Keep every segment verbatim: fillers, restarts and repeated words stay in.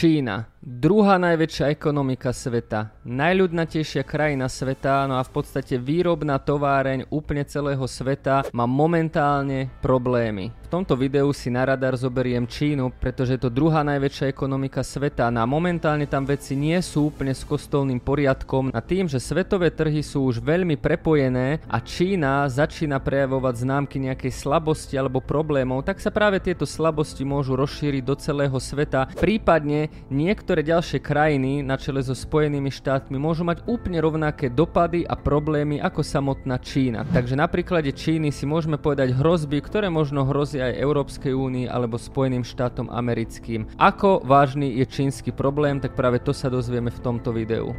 Čína. Druhá najväčšia ekonomika sveta, najľudnatejšia krajina sveta, no a v podstate výrobná továreň úplne celého sveta má momentálne problémy. V tomto videu si na radar zoberiem Čínu, pretože je to druhá najväčšia ekonomika sveta, no a momentálne tam veci nie sú úplne s kostolným poriadkom a tým, že svetové trhy sú už veľmi prepojené a Čína začína prejavovať známky nejakej slabosti alebo problémov, tak sa práve tieto slabosti môžu rozšíriť do celého sveta, prípadne niektoré Niektoré ďalšie krajiny na čele so Spojenými štátmi môžu mať úplne rovnaké dopady a problémy ako samotná Čína. Takže na príklade Číny si môžeme povedať hrozby, ktoré možno hrozia aj Európskej únii alebo Spojeným štátom americkým. Ako vážny je čínsky problém, tak práve to sa dozvieme v tomto videu.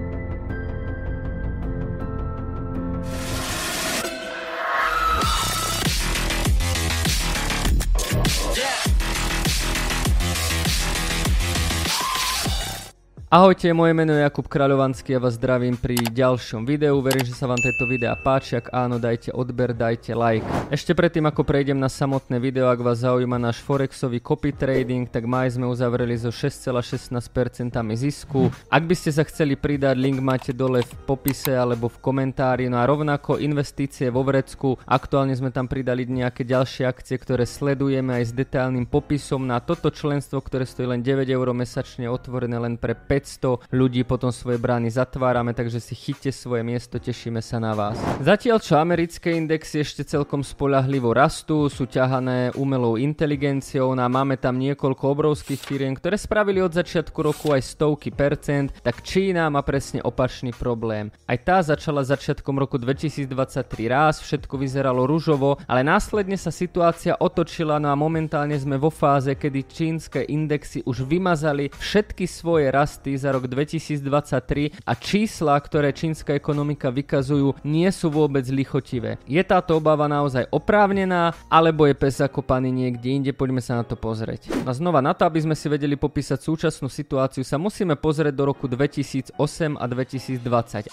Ahojte, moje meno je Jakub Kráľovanský a vás zdravím pri ďalšom videu. Verím, že sa vám tieto videá páči, ak áno, dajte odber, dajte like. Ešte predtým, ako prejdem na samotné video, ak vás zaujíma náš forexový copy trading, tak maj sme uzavreli so šesť celá šestnásť percent zisku. Ak by ste sa chceli pridať, link máte dole v popise alebo v komentári. No a rovnako investície vo vrecku, aktuálne sme tam pridali nejaké ďalšie akcie, ktoré sledujeme aj s detailným popisom na toto členstvo, ktoré stojí len deväť eur mesačne, otvorené len pre päťsto ľudí, potom svoje brány zatvárame, takže si chyťte svoje miesto, tešíme sa na vás. Zatiaľ čo americké indexy ešte celkom spoľahlivo rastú, sú ťahané umelou inteligenciou a máme tam niekoľko obrovských firiem, ktoré spravili od začiatku roku aj stovky percent, tak Čína má presne opačný problém. Aj tá začala začiatkom roku dvetisícdvadsaťtri raz, všetko vyzeralo ružovo, ale následne sa situácia otočila, no a momentálne sme vo fáze, kedy čínske indexy už vymazali všetky svoje rasty za rok dvetisícdvadsaťtri a čísla, ktoré čínska ekonomika vykazujú, nie sú vôbec lichotivé. Je táto obava naozaj oprávnená, alebo je pes zakopaný niekde inde? Poďme sa na to pozrieť. A znova, na to, aby sme si vedeli popísať súčasnú situáciu, sa musíme pozrieť do roku dvetisícosem a dvetisícdvadsať.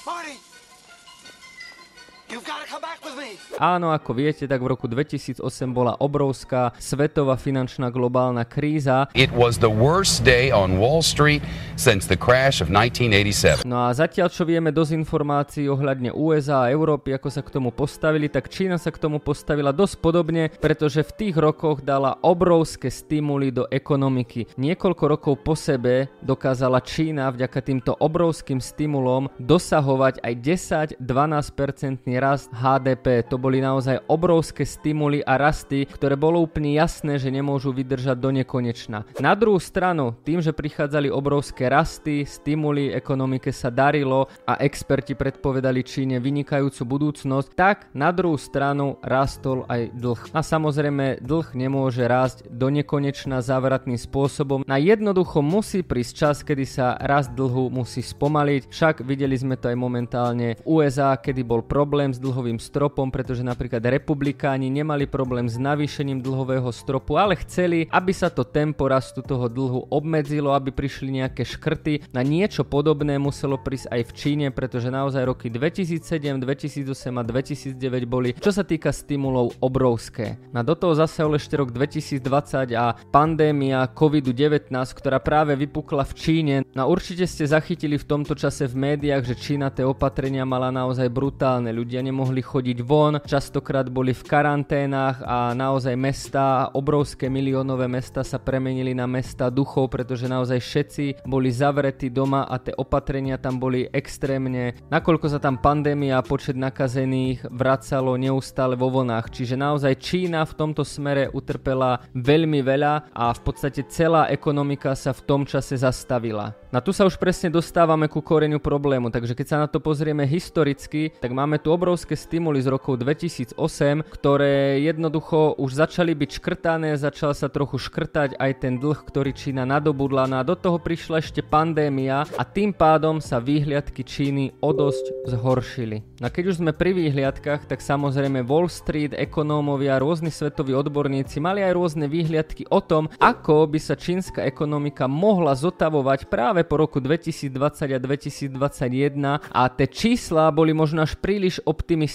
Áno, ako viete, tak v roku dvetisícosem bola obrovská svetová finančná globálna kríza. It was the worst day on Wall Street since the crash of nineteen eighty-seven. No a zatiaľ, čo vieme dosť informácií ohľadne ú es á a Európy, ako sa k tomu postavili, tak Čína sa k tomu postavila dosť podobne, pretože v tých rokoch dala obrovské stimuly do ekonomiky. Niekoľko rokov po sebe dokázala Čína vďaka týmto obrovským stimulom dosahovať aj desať až dvanásť percentný rast há dé pé. To boli naozaj obrovské stimuly a rasty, ktoré bolo úplne jasné, že nemôžu vydržať do nekonečna. Na druhú stranu, tým, že prichádzali obrovské rasty, stimuly, ekonomike sa darilo a experti predpovedali Číne vynikajúcu budúcnosť, tak na druhú stranu rastol aj dlh. A samozrejme, dlh nemôže rásť do nekonečna závratným spôsobom. Na jednoducho musí prísť čas, kedy sa rast dlhu musí spomaliť. Však videli sme to aj momentálne v ú es á, kedy bol problém s dlhovým stropom, pretože napríklad republikáni nemali problém s navýšením dlhového stropu, ale chceli, aby sa to tempo rastu toho dlhu obmedzilo, aby prišli nejaké škrty. Na niečo podobné muselo prísť aj v Číne, pretože naozaj roky dvetisícsedem, dvetisícosem a dvetisícdeväť boli, čo sa týka stimulov, obrovské. Na do toho zasahol ešte rok dvetisícdvadsať a pandémia kovid devätnásť, ktorá práve vypukla v Číne. No určite ste zachytili v tomto čase v médiách, že Čína tie opatrenia mala naozaj brutálne. Ľudia nemohli chodiť von, častokrát boli v karanténach a naozaj mestá, obrovské miliónové mestá sa premenili na mestá duchov, pretože naozaj všetci boli zavretí doma a tie opatrenia tam boli extrémne, nakoľko sa tam pandémia a počet nakazených vracalo neustále vo vlnách. Čiže naozaj Čína v tomto smere utrpela veľmi veľa a v podstate celá ekonomika sa v tom čase zastavila. Na tu sa už presne dostávame ku koreňu problému, takže keď sa na to pozrieme historicky, tak máme tu obrovské stimuly z rokov dvetisícosem, ktoré jednoducho už začali byť škrtané, začal sa trochu škrtať aj ten dlh, ktorý Čína nadobudla, no a do toho prišla ešte pandémia a tým pádom sa výhliadky Číny o dosť zhoršili. No keď už sme pri výhliadkach, tak samozrejme Wall Street, ekonómovia, rôzni svetoví odborníci mali aj rôzne výhliadky o tom, ako by sa čínska ekonomika mohla zotavovať práve po roku dvetisícdvadsať a dvetisícdvadsaťjeden a tie čísla boli možno až príliš optimistické.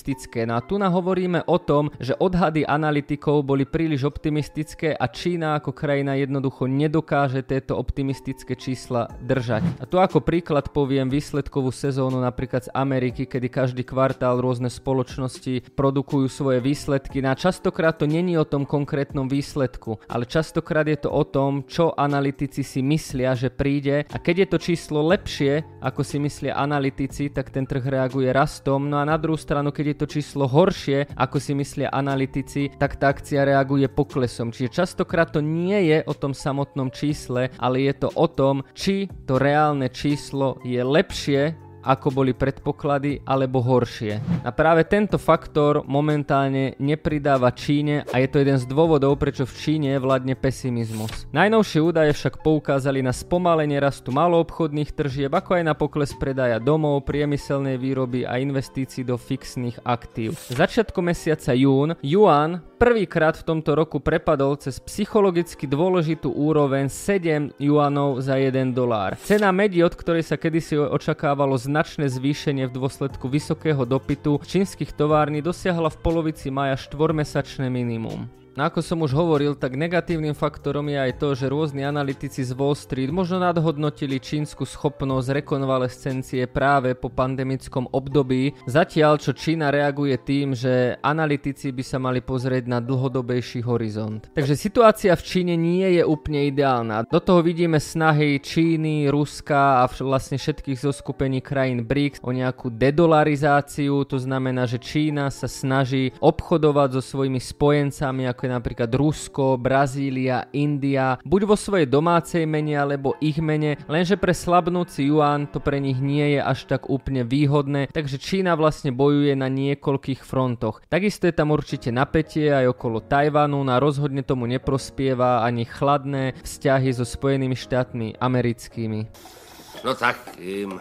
No a tu nahovoríme o tom, že odhady analytikov boli príliš optimistické a Čína ako krajina jednoducho nedokáže tieto optimistické čísla držať. A tu ako príklad poviem výsledkovú sezónu napríklad z Ameriky, kedy každý kvartál rôzne spoločnosti produkujú svoje výsledky. No a častokrát to není o tom konkrétnom výsledku, ale častokrát je to o tom, čo analytici si myslia, že príde, a keď je to číslo lepšie, ako si myslia analytici, tak ten trh reaguje rastom. No a na druhú stranu, keď je to číslo horšie, ako si myslia analytici, tak tá akcia reaguje poklesom. Čiže častokrát to nie je o tom samotnom čísle, ale je to o tom, či to reálne číslo je lepšie, ako boli predpoklady, alebo horšie. A práve tento faktor momentálne nepridáva Číne a je to jeden z dôvodov, prečo v Číne vládne pesimizmus. Najnovšie údaje však poukázali na spomalenie rastu maloobchodných tržieb, ako aj na pokles predaja domov, priemyselnej výroby a investícií do fixných aktív. Začiatkom mesiaca jún juan prvýkrát v tomto roku prepadol cez psychologicky dôležitú úroveň sedem juanov za jeden dolár. Cena medi, od ktorej sa kedysi očakávalo značné zvýšenie v dôsledku vysokého dopytu čínskych tovární, dosiahla v polovici mája štvormesačné minimum. No ako som už hovoril, tak negatívnym faktorom je aj to, že rôzni analytici z Wall Street možno nadhodnotili čínsku schopnosť rekonvalescencie práve po pandemickom období, zatiaľ čo Čína reaguje tým, že analytici by sa mali pozrieť na dlhodobejší horizont. Takže situácia v Číne nie je úplne ideálna. Do toho vidíme snahy Číny, Ruska a vlastne všetkých zoskupení krajín BRICS o nejakú dedolarizáciu, to znamená, že Čína sa snaží obchodovať so svojimi spojencami ako napríklad Rusko, Brazília, India, buď vo svojej domácej mene alebo ich mene, lenže pre slabnúci juan to pre nich nie je až tak úplne výhodné, takže Čína vlastne bojuje na niekoľkých frontoch. Takisto je tam určite napätie aj okolo Tajvanu, a rozhodne tomu neprospieva ani chladné vzťahy so Spojenými štátmi americkými. No tak, Kim.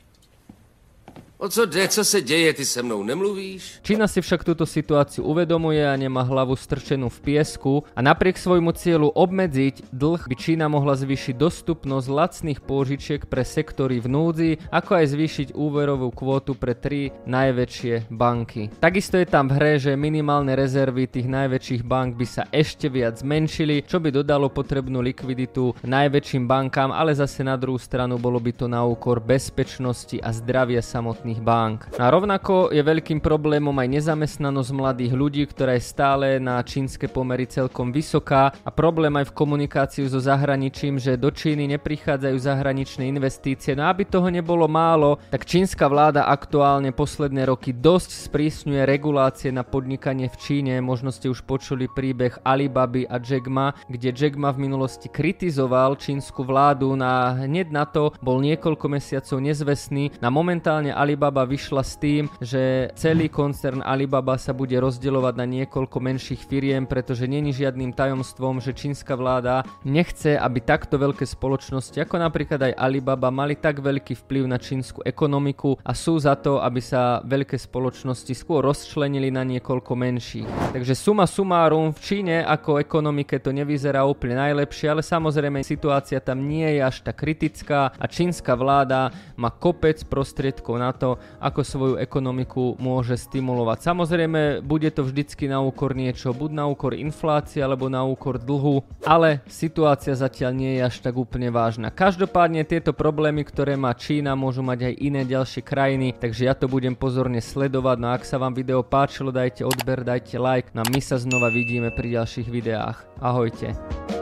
O co jde, co se děje, ty se mnou nemluvíš? Čína si však túto situáciu uvedomuje a nemá hlavu strčenú v piesku a napriek svojmu cieľu obmedziť dlh by Čína mohla zvýšiť dostupnosť lacných pôžičiek pre sektory v núdzi, ako aj zvýšiť úverovú kvótu pre tri najväčšie banky. Takisto je tam v hre, že minimálne rezervy tých najväčších bank by sa ešte viac zmenšili, čo by dodalo potrebnú likviditu najväčším bankám, ale zase na druhú stranu bolo by to na úkor bezpečnosti a zdravia samotných bank. A rovnako je veľkým problémom aj nezamestnanosť mladých ľudí, ktorá je stále na čínske pomery celkom vysoká, a problém aj v komunikácii so zahraničím, že do Číny neprichádzajú zahraničné investície. No aby toho nebolo málo, tak čínska vláda aktuálne posledné roky dosť sprísňuje regulácie na podnikanie v Číne. Možno ste už počuli príbeh Alibaby a Jack Ma, kde Jack Ma v minulosti kritizoval čínsku vládu, a hneď na to bol niekoľko mesiacov nezvestný. Na momentálne Alibaba vyšla s tým, že celý koncern Alibaba sa bude rozdeľovať na niekoľko menších firiem, pretože není žiadnym tajomstvom, že čínska vláda nechce, aby takto veľké spoločnosti ako napríklad aj Alibaba mali tak veľký vplyv na čínsku ekonomiku a sú za to, aby sa veľké spoločnosti skôr rozčlenili na niekoľko menších. Takže suma sumárum, v Číne ako ekonomike to nevyzerá úplne najlepšie, ale samozrejme situácia tam nie je až tak kritická a čínska vláda má kopec prostriedkov na to, ako svoju ekonomiku môže stimulovať. Samozrejme, bude to vždycky na úkor niečo, buď na úkor inflácie, alebo na úkor dlhu, ale situácia zatiaľ nie je až tak úplne vážna. Každopádne tieto problémy, ktoré má Čína, môžu mať aj iné ďalšie krajiny, takže ja to budem pozorne sledovať. No a ak sa vám video páčilo, dajte odber, dajte like, no a my sa znova vidíme pri ďalších videách. Ahojte.